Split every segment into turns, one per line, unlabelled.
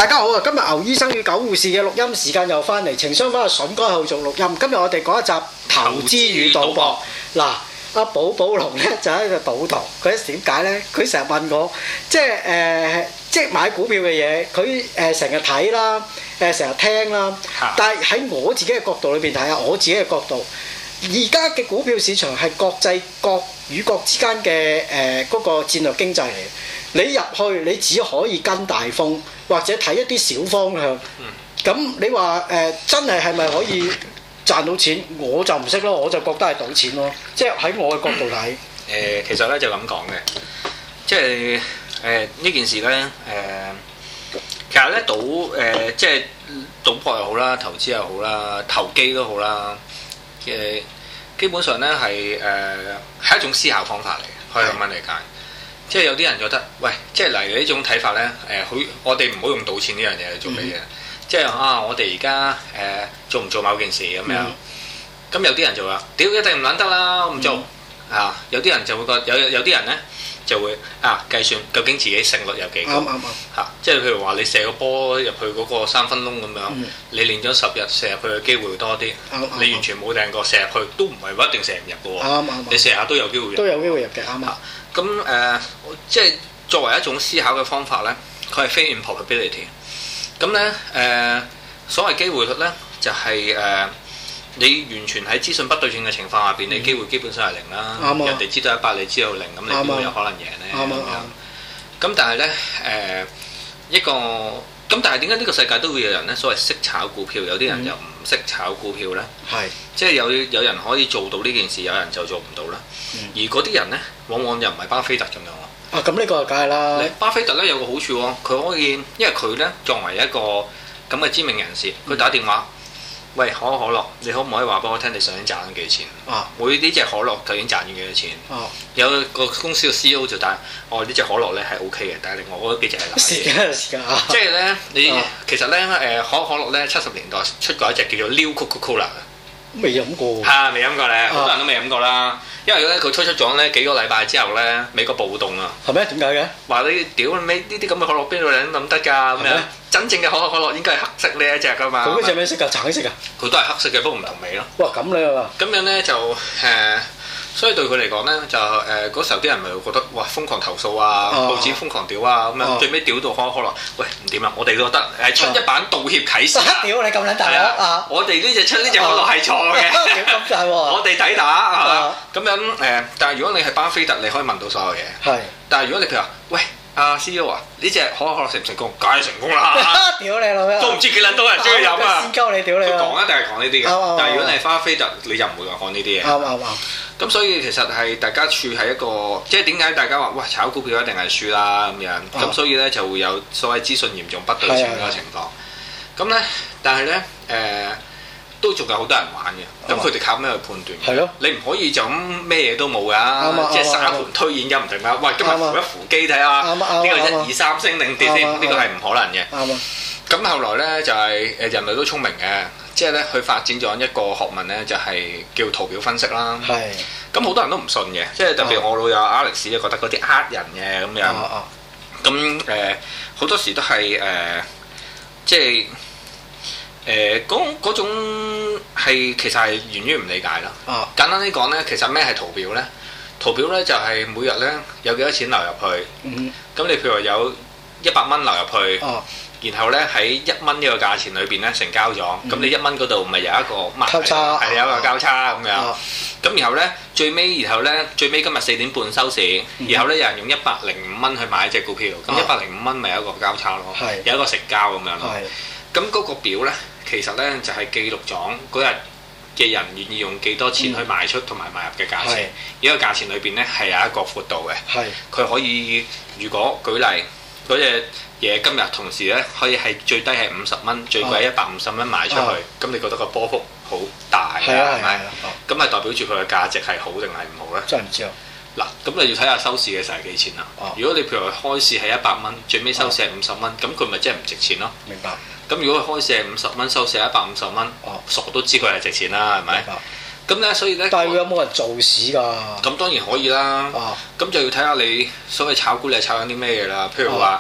大家好啊！今日牛醫生與狗護士嘅錄音時間又翻嚟，情商翻阿筍哥後續錄音。今日我哋講一集投資與賭博。嗱，阿寶寶龍咧就喺度賭徒，佢點解咧？佢成日問我，即係買股票嘅嘢，佢成日睇啦，成日聽啦。但係喺我自己嘅角度裏邊睇下，我自己嘅角度，而家嘅股票市場係國際國與國之間嘅嗰個戰略經濟嚟。你入去，你只可以跟大風，或者睇一啲小方向。咁你話真係咪可以賺到錢？我就唔識咯，我就覺得係賭錢咯。即係喺我嘅角度睇。
其實咧就咁講嘅，即係呢件事咧其實咧即係賭博又好啦，投資又好啦，投機都好啦。基本上咧係一種思考方法嚟嘅，可以咁樣理解。即係有啲人覺得，喂，即係例如呢種睇法咧，我哋唔好用賭錢呢樣嘢嚟做嘅嘢。即係我哋而家做唔做某件事咁樣？咁有啲人就話，屌一定唔撚得啦，我唔做啊！有啲人就會覺得，有啲人咧就會計算究竟自己勝率有幾高嚇。即係譬如話，你射個波入去嗰個3分窿咁樣，你練咗10日射入去嘅機會會多啲。你完全冇掟過射入去，都唔係一定射唔入嘅喎。你射下都有機會入。都有機會入嘅，啱啊！咁即係作為一種思考嘅方法咧，佢係非 improbability。咁咧所謂機會率咧，就係你完全喺資訊不對稱嘅情況下邊，你機會基本上係零啦。人哋知道100，你知道0，咁你點會有可能贏咧？咁但係咧咁但係點解呢個世界都會有人咧所謂識炒股票，有啲人又唔識炒股票咧？即係有人可以做到呢件事，有人就做唔到啦。而嗰啲人咧，往往又唔係巴菲特咁樣喎。咁呢個梗係啦。巴菲特咧有個好處喎，佢可以，因為佢咧作為一個咁嘅知名人士，佢打電話，喂，可樂，你可唔可以話俾我聽，你上年賺咗幾錢？每呢隻可樂究竟賺咗幾多錢？有個公司嘅 CEO 就打，呢隻可樂咧係 OK 嘅，但係另外嗰幾隻係難。時間即係咧，其實咧可樂咧70年代出過一隻叫做 New Coca-Cola 嘅，未飲過。未飲過咧，好多人都未飲過啦。因為咧佢推出咗咧幾個禮拜之後咧，美國暴動啊。係咩？點解嘅？話你屌你呢啲咁嘅可樂邊度嚟諗得㗎咁樣？真正嘅可樂應該係黑色呢一隻㗎嘛。佢嗰隻咩色㗎？橙色㗎？佢都係黑色嘅，不過唔同味咯。哇！咁你啊？咁樣咧就所以對佢嚟講咧就嗰時候啲人咪會覺得哇瘋狂投訴啊，報紙瘋狂屌啊咁樣，最尾屌到可樂，喂唔掂啊！我哋覺得出一版道歉啟事。屌你咁撚大啊！我哋呢隻可樂係錯嘅。咁大喎！我哋抵打係嘛？咁樣但係如果你係巴菲特，你可以問到所有嘢。係。但係如果你譬如話，喂CEO 啊，呢隻可樂成唔成功？梗係成功啦！屌你老味！都唔知幾撚多人中意飲啊！先鳩你屌你！佢講一定係講呢啲嘅。但係如果你係巴菲特，你就唔會講呢啲嘢。啱。咁所以其實係大家處喺一個，即係點解大家話喂炒股票一定係輸啦咁樣，咁所以咧就會有所謂資訊嚴重不對稱嗰個情況。咁咧，但係咧都仲有好多人玩嘅，咁佢哋靠咩去判斷？係咯，你唔可以就咁咩嘢都冇㗎，即係沙盤推演咁唔定啦。喂，今日扶一扶機睇下，呢個1、2、3升定跌先，呢個係唔可能嘅。咁後來咧就係人類都聰明嘅。即係咧，佢發展咗一個學問咧，就係叫圖表分析啦。係。咁好多人都唔信嘅，即係特別我老友 Alex 咧覺得嗰啲人嘅咁樣。咁好多時都係即係嗰種係其實係源於唔理解啦。簡單啲講咧，其實咩係圖表咧？圖表咧就係每日咧有幾多錢流入去。咁你譬如話有100蚊流入去。然後咧喺1蚊呢個價錢裏邊咧成交咗，咁你1蚊嗰度咪有一個交叉，係有一個交叉咁樣。咁然後咧最尾今日4點半收市，然後咧有人用105蚊去買一隻股票，咁105蚊咪有一個交叉咯，有一個成交咁樣咯。咁嗰個表咧其實咧就係記錄咗嗰日嘅人願意用幾多錢去賣出同埋買入嘅價錢。呢個價錢裏邊咧係有一個闊度嘅，佢可以如果舉例嗰隻嘢今日同時咧可以係最低係50蚊，最貴150蚊賣出去，咁你覺得個波幅好大係咪？咁係代表住佢嘅價值係好定係唔好咧？真係唔知啊！嗱，咁你要睇下收市嘅時候係幾錢啦。如果你譬如話開市係100蚊，最尾收市係50蚊，咁佢咪即係唔值錢咯？明白。咁如果佢開市係50蚊，收市係150蚊，傻都知佢係值錢啦，係咪？咁咧，所以咧，但係會有冇人做市㗎？咁當然可以啦。咁就要睇下你所謂炒股，你係炒緊啲咩嘢啦？譬如話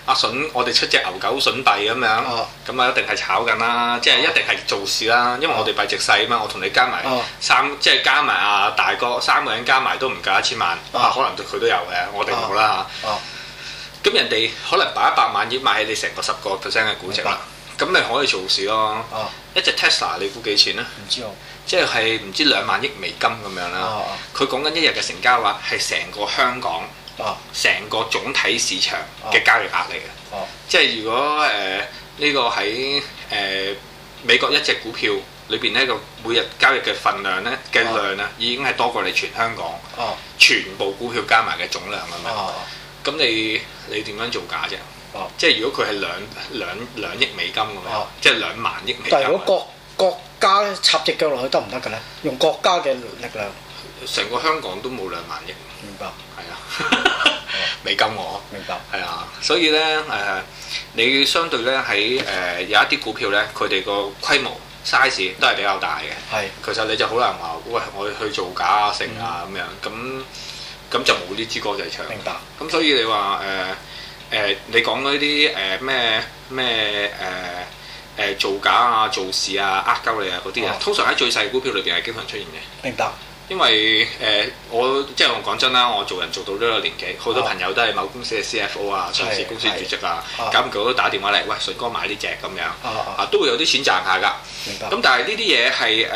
阿筍，我哋出隻牛狗筍幣咁樣，咁啊一定係炒緊啦，即係一定係做事啦，因為我哋幣值細啊嘛，我同你加埋即係加埋阿大哥3個人加埋都唔夠1000萬，可能佢都有嘅，我哋冇啦嚇。咁人哋可能擺100萬億買起你成個10% 嘅估值啦，咁你可以做事咯。一隻 Tesla 你估幾錢咧？唔知喎。即係唔知2萬億美金咁樣啦。佢講緊一日嘅成交額係成個香港。成個總體市場嘅交易額嚟嘅，即係如果呢個喺美國一隻股票裏邊呢個每日交易嘅份量呢嘅量呢，已經係多過你全香港全部股票加埋嘅總量咁樣。咁你點樣做假啫？即係如果佢係兩億美金咁樣，即係2萬億美金。
但係如果國家插隻腳落去得唔得嘅咧？用國家嘅力量，
成個香港都冇2萬億。
明白。
美金我
明白
係啊，所以咧你相對咧喺有一啲股票咧，佢哋個規模 size 都係比較大嘅。係，其實你就好難話，喂，我去做假啊、成啊咁樣，咁就冇呢支歌仔唱。明白。咁所以你話你講嗰啲咩造假啊、做事啊、鳩你啊嗰啲啊，通常喺最細股票裏邊係經常出現嘅。明白。因為我講真啦，我做人做到呢個年紀，好多朋友都係某公司嘅 CFO 啊、上市公司主席啊，咁佢都打電話嚟，喂，順哥買呢隻咁樣，都會有啲錢賺下㗎。明白。咁但係呢啲嘢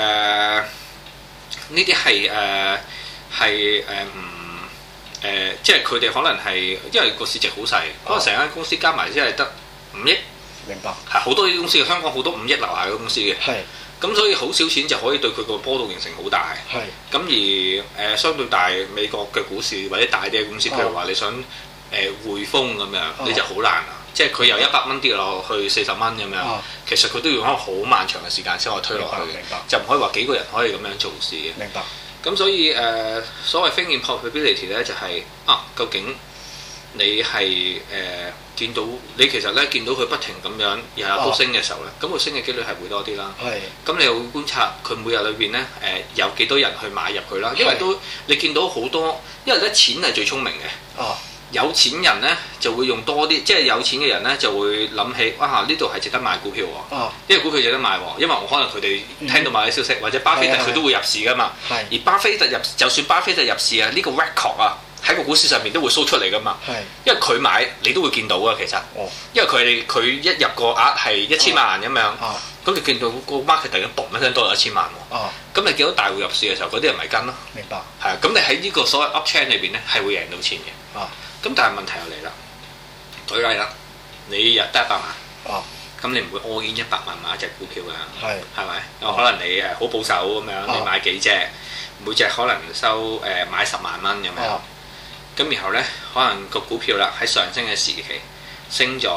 係即係佢哋可能係因為個市值好細，可能成間公司加埋先係得5億。明白。係好多啲公司，香港好多5億樓下嘅公司嘅。係。咁所以好少錢就可以對佢個波動形成好大。係。咁而相對大美國嘅股市或者大啲嘅公司，譬如話你想匯豐咁樣，你就好難啦。即係佢由100蚊跌落去40蚊咁樣，其實佢都要用好漫長嘅時間先可以推落去嘅，就唔可以話幾個人可以咁樣做事嘅。明白。咁所以所謂 thinking probability 咧，就係究竟你係見到你其實咧見到佢不停咁樣日日都升嘅時候咧，咁佢升嘅機率係會多啲啦。係。咁你又會觀察佢每日裏邊咧有幾多人去買入佢啦，因為都你見到好多，因為咧錢係最聰明嘅。哦。有錢人咧就會用多啲，即係有錢嘅人咧就會諗起，哇！呢度係值得買股票喎。哦。因為股票值得買喎，因為我可能佢哋聽到某啲消息，或者巴菲特佢都會入市噶嘛。係。而巴菲特就算巴菲特入市啊，呢個 record 啊。喺個股市上面都會 show 出嚟噶嘛，因為佢買你都會見到啊，其實，因為佢一入個額係1000萬咁樣，咁你見到個 market 突然間嘣一聲多咗1000萬喎，咁你見到大戶入市嘅時候，嗰啲人咪跟咯，明白，係啊，咁你喺呢個所謂 up trend 裏邊咧係會贏到錢嘅，咁但係問題又嚟啦，舉例啦，你日得100萬，咁你唔會 all in 100萬買一隻股票㗎，係咪？可能你好保守咁樣，你買幾隻，每隻可能收買10萬蚊咁樣。咁然後咧，可能個股票啦喺上升嘅時期升咗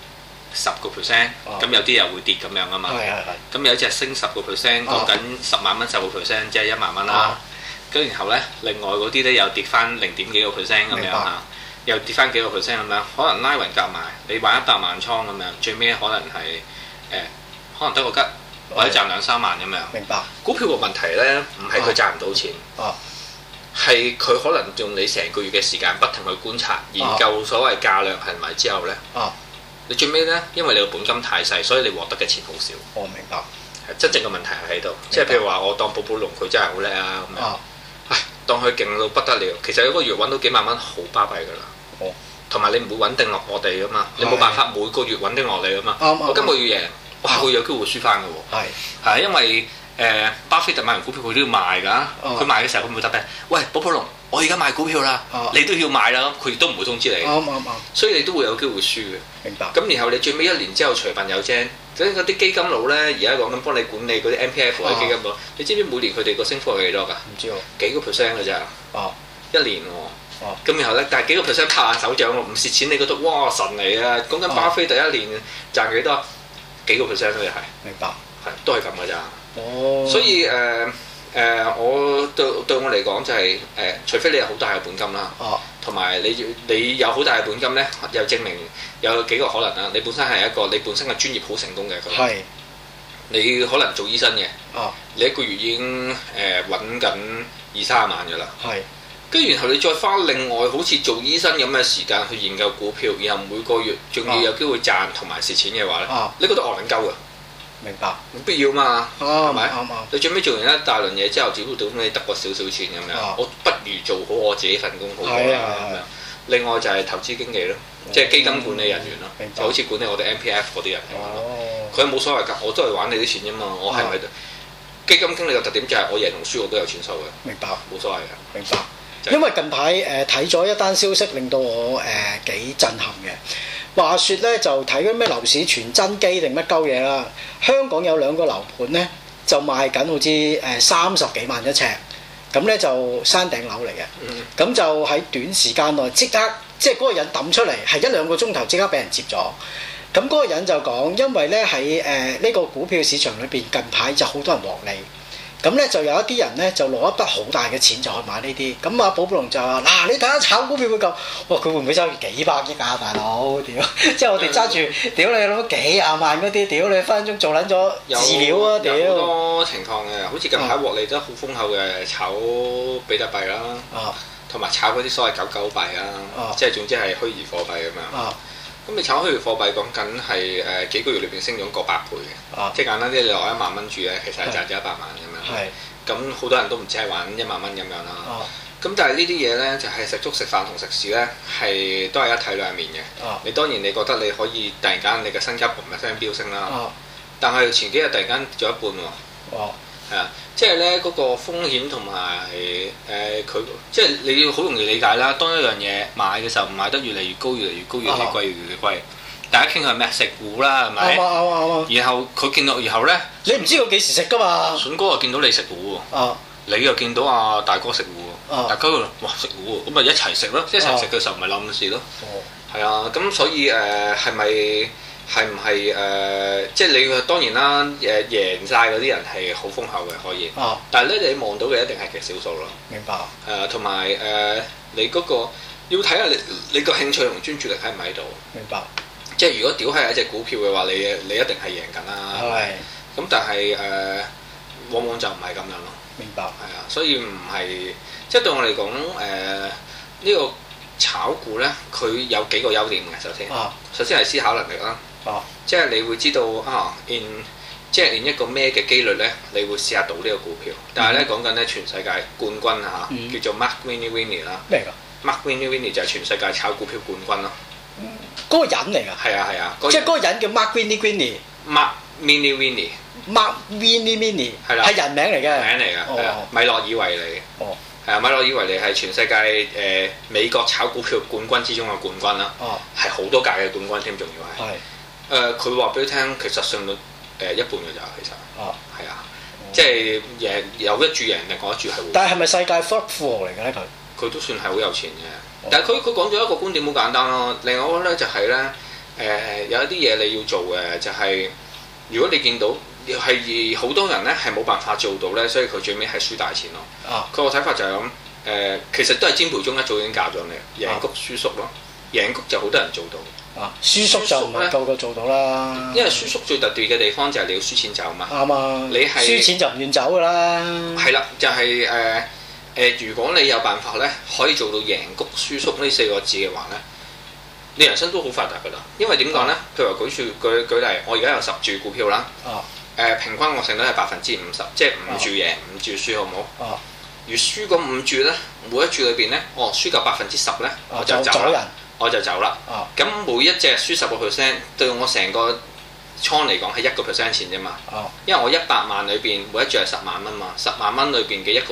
10%，咁有啲又會跌咁樣啊嘛。咁有隻升10%，講緊10萬蚊10%，即係1萬蚊啦。咁然後咧，另外嗰啲咧又跌翻0.幾個 percent 咁樣嚇，又跌翻幾個 percent 咁樣，可能拉勻夾埋，你玩100萬倉咁樣，最尾可能係可能得個吉，或者賺2-3萬咁樣。明白。股票個問題咧，唔係佢賺唔到錢。係佢可能用你成個月嘅時間不停去觀察研究所謂價量係咪之後咧，你最尾咧，因為你個本金太細，所以你獲得嘅錢好少。我明白。係真正嘅問題係喺度，即係譬如話我當寶寶龍佢真係好叻啊咁樣，唉，當佢勁到不得了，其實一個月揾到幾萬蚊好巴閉㗎啦。同埋你唔會穩定落我哋㗎嘛，你冇辦法每個月穩定落嚟㗎嘛。我今個月贏，我下個月有機會輸翻㗎喎。係因為。巴菲特買完股票佢都要賣㗎，佢賣嘅時候佢唔會答你，喂，寶寶龍，我而家買股票啦，你都要買啦，佢亦都唔會通知你，所以你都會有機會輸嘅。明白。咁然後你最尾1年之後隨份有精，嗰啲基金佬咧，而家講緊幫你管理嗰啲 MPF 嘅基金佬，你知唔知每年佢哋個升幅係幾多㗎？唔知喎。幾個 percent 㗎咋？1年喎。咁然後咧，但係幾個 percent 拍下手掌喎，唔蝕錢你覺得哇神嚟啊！講緊巴菲特1年賺幾多？幾個 percent 都係。明白。係，都係咁㗎咋。所以我對我嚟講就係除非你有好大嘅本金啦，同埋你有好大嘅本金咧，又證明有幾個可能啦。你本身係一個你本身嘅專業好成功嘅一個人，你可能做醫生嘅，你一個月已經揾緊20-30萬㗎啦。 跟住然後你再花另外好似做醫生咁嘅時間去研究股票，然後每個月仲要有機會賺同埋蝕錢嘅話咧，你覺得戇撚鳩㗎？
明白，
冇必要嘛，係咪？
啱。
你最尾做完一大輪嘢之後，只不過你得個少少錢咁樣，我不如做好我自己份工好過啦咁樣。另外就係投資經紀咯，即係基金管理人員咯，就好似管理我哋 MPF 嗰啲人咁樣咯。佢冇所謂㗎，我都係玩你啲錢啫嘛。我係咪基金經理嘅特點就係我贏同輸我都有錢收嘅？明白，冇所謂嘅。明白。
因為近排睇咗一單消息，令到我幾震撼嘅。話說咧，就睇嗰咩樓市傳真機定乜鳩嘢啦。香港有2個樓盤咧，就賣緊好似30幾萬一尺，咁咧就山頂樓嚟嘅。咁就喺短時間內即刻，即係嗰個人抌出嚟，係1-2個鐘頭即刻俾人接咗。咁嗰個人就講，因為咧喺呢個股票市場裏邊，近排就好多人獲利。咁咧就有一啲人咧就攞一筆好大嘅錢就去買呢啲，咁阿寶寶龍就話：嗱，你睇下炒股票會咁，哇！佢會唔會收幾百億啊，大佬？屌！即係我哋揸住，屌你攞幾廿萬嗰啲，屌你分分鐘做撚咗飼料啊！屌！
有好多情況嘅，好似近排獲利得好豐厚嘅，炒比特幣啦，同埋炒嗰啲所謂狗狗幣啦，即係總之係虛擬貨幣咁樣。咁你炒虛擬貨幣講緊係幾個月裏邊升咗過100倍嘅，即係簡單啲，你攞1萬蚊住咧，其實係賺咗100萬咁樣。咁好多人都唔知係玩1萬蚊咁樣啦。咁但係呢啲嘢咧，就係食粥食飯同食屎咧，係都係一體兩面嘅。你當然你覺得你可以突然間你嘅身家嘣一聲飆升啦，但係前幾日突然間跌咗一半喎。係啊，即係咧嗰個風險同埋佢，即係你要好容易理解啦。當一樣嘢買嘅時候，買得越嚟越高，越嚟越高，越嚟越貴，越嚟越貴。大家傾向咩？食糊啦，係咪？啱。然後佢見到，然後咧，
你唔知佢幾時食㗎嘛？
筍哥又見到你食糊喎，你又見到阿大哥食糊喎，大家哇食糊喎，咁咪一齊食咯。一齊食嘅時候咪冧事咯。係啊，咁所以係唔係即係你當然啦，贏晒嗰啲人係好豐厚嘅可以，但係咧你望到嘅一定係極少數咯。明白。同埋你嗰個要睇下你個興趣同專注力喺唔喺度。明白。即係如果屌係一隻股票嘅話，你一定係贏緊啦。係。咁但係往往就唔係咁樣咯。明白。係啊，所以唔係即係對我嚟講呢個炒股咧，佢有幾個優點嘅。首先係思考能力啦。即係你會知道即係一個咩嘅機率咧，你會試下賭呢個股票。但係咧講緊咧全世界冠軍啊嚇，叫做 Mark Winnie 啦。咩㗎 ？Mark Winnie 就係全世界炒股票冠軍咯。嗰個人嚟㗎。係啊。即係嗰個人叫 Mark Winnie。Mark Winnie。Mark Winnie。係啦。係人名嚟嘅。名嚟㗎。係啊。米洛爾維尼。係啊，米洛爾維尼係全世界美國炒股票冠軍之中嘅冠軍啦。係好多屆嘅冠軍添，仲要係。係。佢話俾你聽，其實勝率一半嘅咋，其實。係啊，即係有一注贏，另外一注係會。但係咪世界富豪嚟嘅咧？佢都算係好有錢嘅，但係佢講咗一個觀點好簡單咯。另外一個咧就係咧有一啲嘢你要做嘅，就係如果你見到係好多人咧係冇辦法做到咧，所以佢最尾係輸大錢咯。佢個睇法就係咁其實都係占培中一早已經教咗你，贏谷輸縮咯。贏谷就好多人做到。輸縮就唔係個個做到啦，因為輸縮最特別嘅地方就係你要輸錢走嘛。啱啊，你係輸錢就唔願走㗎啦。係啦，就係如果你有辦法咧，可以做到贏谷輸縮呢4個字嘅話咧，你人生都好發達㗎啦。因為點講咧？譬如話舉例，我而家有10注股票啦。平均我勝率係50%，即係5注贏5注輸，好唔好？如輸嗰5注咧，每一注裏邊咧，輸夠10%咧，我就走啦。我就走啦。咁每一隻輸10%，對我成個倉嚟講係1% 錢啫嘛。因為我100萬裏邊每一注係10萬蚊嘛，10萬蚊裏邊嘅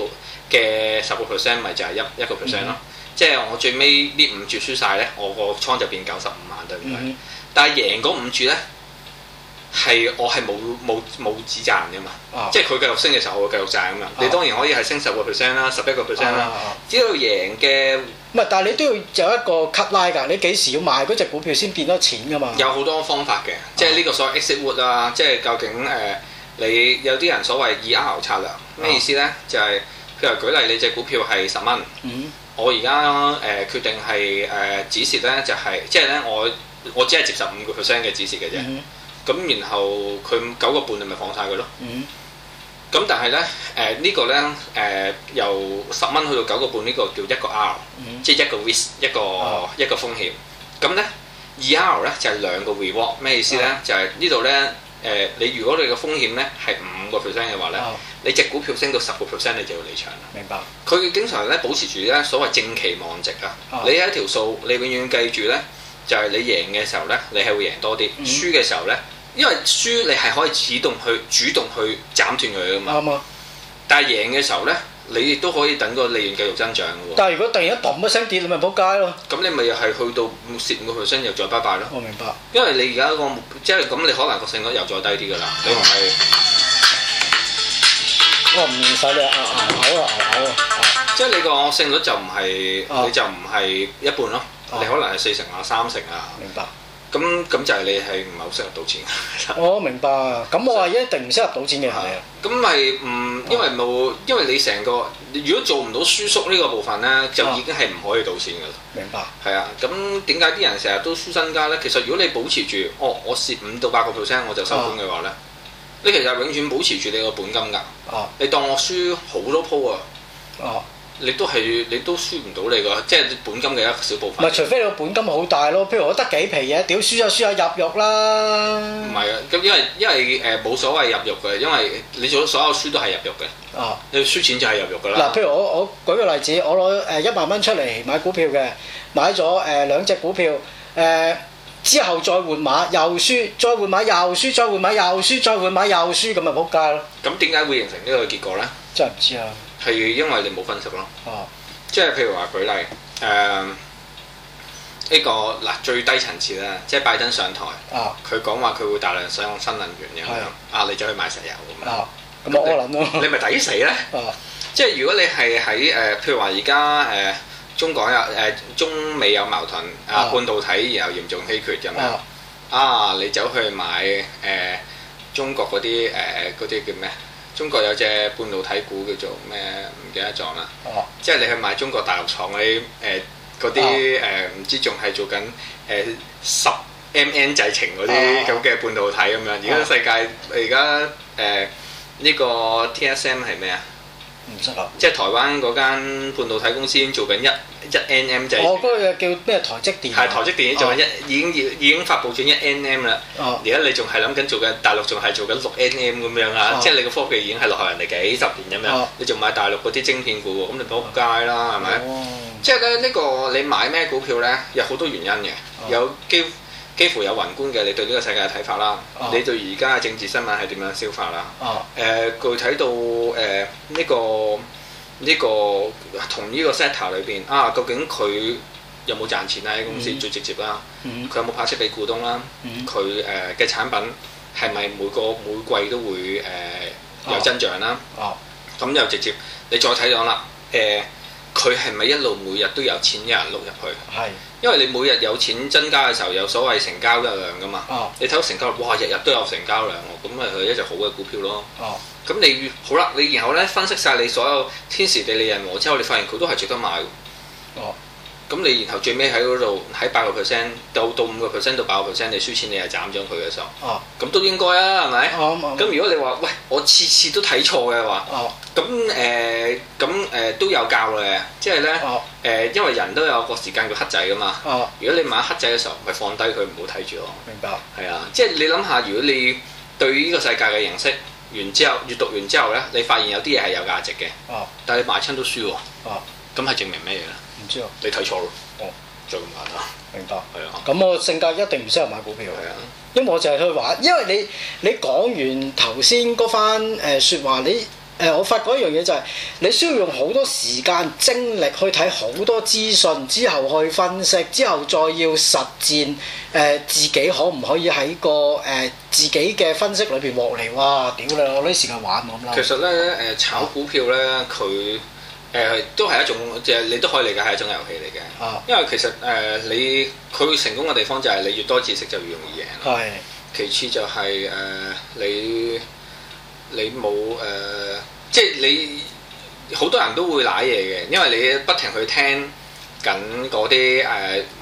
10%咪就係1% 咯。即係我最尾呢5注輸晒咧，我個倉就變95萬，對唔對？但係贏嗰5注咧，係我係冇止賺㗎嘛。即係佢繼續升嘅時候，我會繼續賺㗎嘛。你當然可以係升10% 啦，11% 啦。只要贏嘅。唔係，但係你都要有一個 cut line 㗎。你幾時要賣嗰隻股票先變多錢㗎嘛？有好多方法嘅，即係呢個所謂 exit wood 啦。即係究竟你有啲人所謂2R策略咩意思咧？就係譬如舉例，你隻股票係10蚊，我而家決定係止蝕咧，就係即係咧我只係接受5% 嘅止蝕嘅啫。咁然後佢9個半，你咪放晒佢咯。 咁但係咧呢個咧由10蚊去到9個半呢個叫一個 R，即係一個 risk 一個風險。咁咧2R 咧就係2個 reward， 咩意思咧？就係呢度咧你如果你個風險咧係5% 嘅話咧，你隻股票升到10%你就要離場啦。明白。佢經常咧保持住咧所謂正期望值啊。你有一條數，你永遠記住咧，就係你贏嘅時候咧，你係會贏多啲；輸嘅時候咧，因為輸你係可以主動去斬斷佢噶嘛。啱啊。但係贏嘅時候咧，你亦都可以等個利潤繼續增長嘅喎。但係如果突然間嘣一聲跌，你咪仆街咯。咁你咪又係去到蝕5%又再拜拜咯。我明白。因為你而家個即係咁，你可能個勝率又再低啲㗎啦。你唔係我唔使你嘔啊！即係你個勝率就唔係你就唔係一半咯。你可能係4成啊、3成啊。明白。咁就係你係唔係好適合賭錢？我明白。咁我話一定唔適合賭錢嘅人嚟啊。咁咪因為你成個如果做唔到輸縮呢個部分咧，就已經係唔可以賭錢㗎啦。明白。係啊。咁點解啲人成日都輸身家咧？其實如果你保持住我蝕5到8%我就收工嘅話咧，你其實永遠保持住你個本金㗎。你當我輸好多鋪啊。你都輸唔到你個，即係本金嘅一小部分。唔係，除非你個本金好大咯。譬如我得幾皮嘢，屌輸就輸下入肉啦。唔係啊，咁因為冇所謂入肉嘅，因為你做所有輸都係入肉嘅。你輸錢就係入肉㗎啦。嗱，譬如我舉個例子，我攞1萬蚊出嚟買股票嘅，買咗2隻股票，之後再換馬又輸，再換馬又輸，再換馬又輸，再換馬又輸，咁咪仆街咯。咁點解會形成呢個結果咧？真係唔知啊。係因為你冇分析咯，即係譬如話舉例，呢個嗱最低層次啦，即係拜登上台，佢講話佢會大量使用新能源咁樣，你走去買石油咁樣，咁我諗咯，你咪抵死咧？即係如果你係喺譬如話而家中美有矛盾，半導體然後嚴重稀缺咁樣，你走去買中國嗰啲叫咩？中國有隻半導體股叫做咩？唔記得咗啦。即係你去買中國大陸廠嗰啲唔知仲係做緊10MN 製程嗰啲咁嘅半導體咁樣。而家世界而家呢個 TSM 係咩啊？唔識啊！即係台灣嗰間半導體公司已經做緊1nm 製程。嗰個叫咩？台積電。係台積電做緊已經發布咗1nm啦。而家你仲係諗緊做緊大陸仲係做緊6nm咁樣啊！即係你個科技已經係落後人哋幾十年咁樣，你仲買大陸嗰啲晶片股喎，咁你仆街啦，係咪？即係咧呢個你買咩股票咧，有好多原因嘅，有幾乎有宏觀嘅你對呢個世界嘅睇法啦，你對而家嘅政治新聞係點樣消化啦？具體到呢個同呢個 sector 裏邊究竟佢有冇賺錢啊？喺公司最直接啦，佢有冇派息俾股東啦？佢嘅產品係咪每季都會有增長啦？咁又直接你再睇到啦，佢係咪一路每日都有錢有人碌入去？係。因為你每日有錢增加嘅時候，有所謂成交量㗎嘛。你睇到成交量，哇！日日都有成交量喎，咁咪係一隻好嘅股票咯。咁你好啦，你然後咧分析晒你所有天時地利人和之後，你發現佢都係值得買喎。咁你然後最尾喺嗰度喺8%到5%到8%，你輸錢你係斬咗佢嘅時候，咁都應該啊，係咪？咁如果你話喂，我次次都睇錯嘅話，咁都有教嘅，即係咧因為人都有個時間叫黑仔噶嘛。如果你買黑仔嘅時候，咪放低佢唔好睇住咯。明白。係啊，即係你諗下，如果你對呢個世界嘅認識完之後，閱讀完之後咧，你發現有啲嘢係有價值嘅，但係你買親都輸喎。咁係證明咩嘢咧？唔知啊，你睇錯咯。就咁簡單。明白。係啊。咁我性格一定唔適合買股票。係啊。因為我就係去玩，因為你講完頭先嗰番説話，我發覺一樣嘢就係你需要用好多時間精力去睇好多資訊，之後去分析，之後再要實踐自己可唔可以喺個自己嘅分析裏邊獲利。哇！屌你，我啲時間玩咁啦。其實咧炒股票咧佢。都係一種，即係你都可以理解係一種遊戲嚟嘅。因為其實佢成功嘅地方就係你越多知識就越容易贏。係。其次就係你冇即係你好多人都會賴嘢嘅，因為你不停去聽緊嗰啲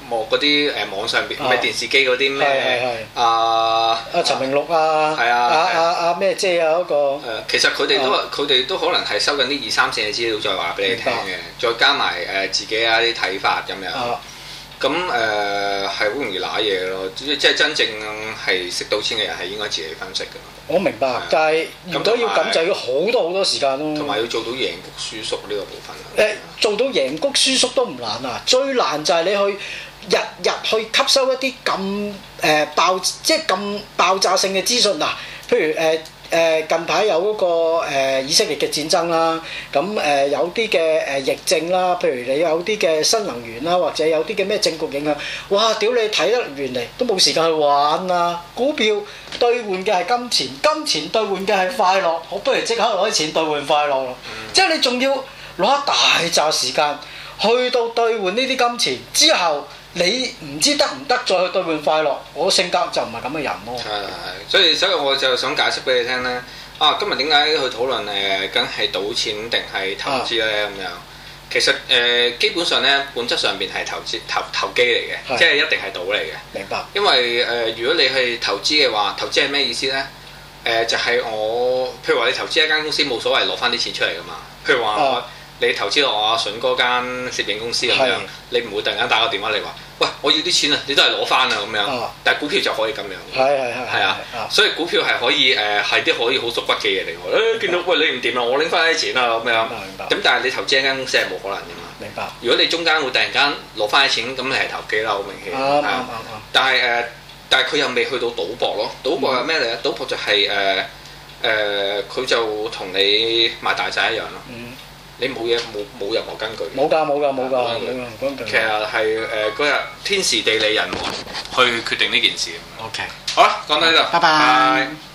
嗰啲網上邊咩電視機嗰啲咩
陳明祿啊，
係啊，
咩姐啊嗰個
其實佢哋都可能係收緊啲2、3線嘅資料，再話俾你聽嘅，再加埋自己一啲睇法咁樣。咁係好容易揦嘢咯，即係真正係識賭錢嘅人係應該自己分析㗎。我明白，但係如果要咁就要好多時間咯。同埋要做到贏谷輸縮呢個部分。做到贏谷輸縮都唔難啊，最難就係你去日去吸收一啲咁即係咁爆炸性嘅資訊嗱，譬如近排有嗰個以色列嘅戰爭啦，咁有啲嘅疫症啦，譬如你有啲嘅新能源啦，或者有啲嘅咩政局影響，哇！屌你睇得完嚟都冇時間去玩啊！股票兌換嘅係金錢，金錢兌換嘅係快樂，我不如即刻攞啲錢兌換快樂咯。即係你仲要攞一大紮時間去到兌換呢啲金錢之後。你唔知得唔得再去兌換快樂？我性格就唔係咁嘅人咯。係，所以我就想解釋俾你聽咧。今日點解去討論梗係賭錢定係投資咧咁樣？其實基本上咧，本質上邊係投機嚟嘅，即係一定係賭嚟嘅。明白。因為如果你去投資嘅話，投資係咩意思咧？就係譬如話你投資一間公司冇所謂攞翻啲錢出嚟噶嘛。譬如話你投資落我阿筍嗰間攝影公司咁樣，你唔會突然間打個電話嚟話，喂，我要啲錢啊！你都係攞翻啊咁樣。但係股票就可以咁樣。係啊，所以股票係可以係啲可以好縮骨嘅嘢嚟喎。見到喂你唔掂啦，我拎翻啲錢啊咁樣。明白。咁但係你投資一間公司係冇可能㗎嘛。明白。如果你中間會突然間攞翻啲錢，咁你係投機啦，好明顯。但係佢又未去到賭博咯。賭博係咩嚟咧？賭博就係佢就同你買大仔一樣咯。你冇任何根據。冇㗎。其實係嗰日天時地利人和去決定呢件事。OK。好啦，講到呢度。拜拜。